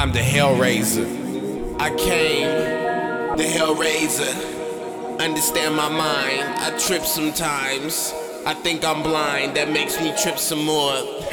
I'm the Hellraiser. I came, the Hellraiser. Understand my mind, I trip sometimes. I think I'm blind, that makes me trip some more.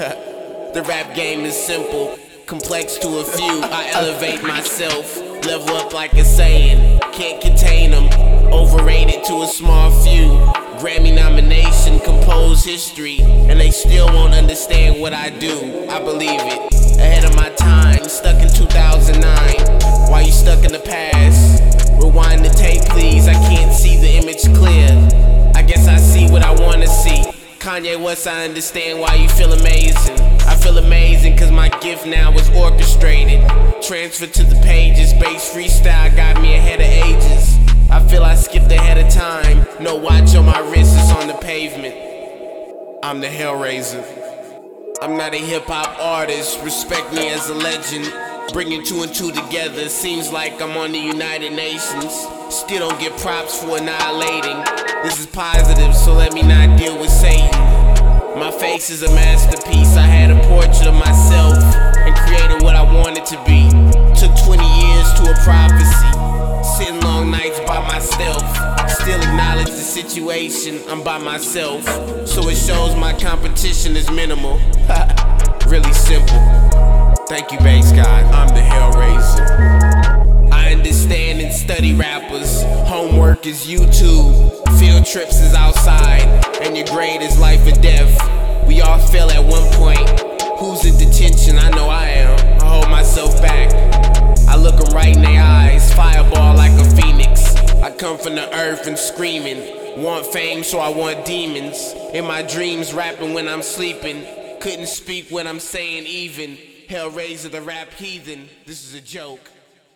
The rap game is simple, complex to a few. I elevate myself, level up like a saying. Can't contain them, overrated to a small few. Grammy nomination, compose history, and they still won't understand what I do. I believe it, ahead of my time, stuck in 2009. Why you stuck in the past? Rewind the tape please, I can't see the image clear. I guess I see what I wanna see. Kanye West, I understand why you feel amazing. I feel amazing cause my gift now is orchestrated. Transfer to the pages, bass freestyle got me ahead of ages. I feel I skipped ahead of time. No watch on my wrist, it's on the pavement. I'm the Hellraiser. I'm not a hip-hop artist, respect me as a legend. Bringing two and two together, seems like I'm on the United Nations. Still don't get props for annihilating. This is positive, so let me not deal with Satan. My face is a masterpiece, I had a portrait of myself and created what I wanted to be. Took 20 years to a prophecy, sitting long nights by myself. Still acknowledge the situation, I'm by myself. So it shows my competition is minimal. Really simple. Thank you, bass God, I'm the Hellraiser. I understand and study rappers. Homework is YouTube, field trips is outside, and your grade is life or death. We all fail at one point. Who's in detention? I know I am. I hold myself back. I look them right in their eyes, fireball like a phoenix. I come from the earth and screaming. Want fame, so I want demons. In my dreams, rapping when I'm sleeping. Couldn't speak what I'm saying even. Hellraiser the rap heathen, this is a joke.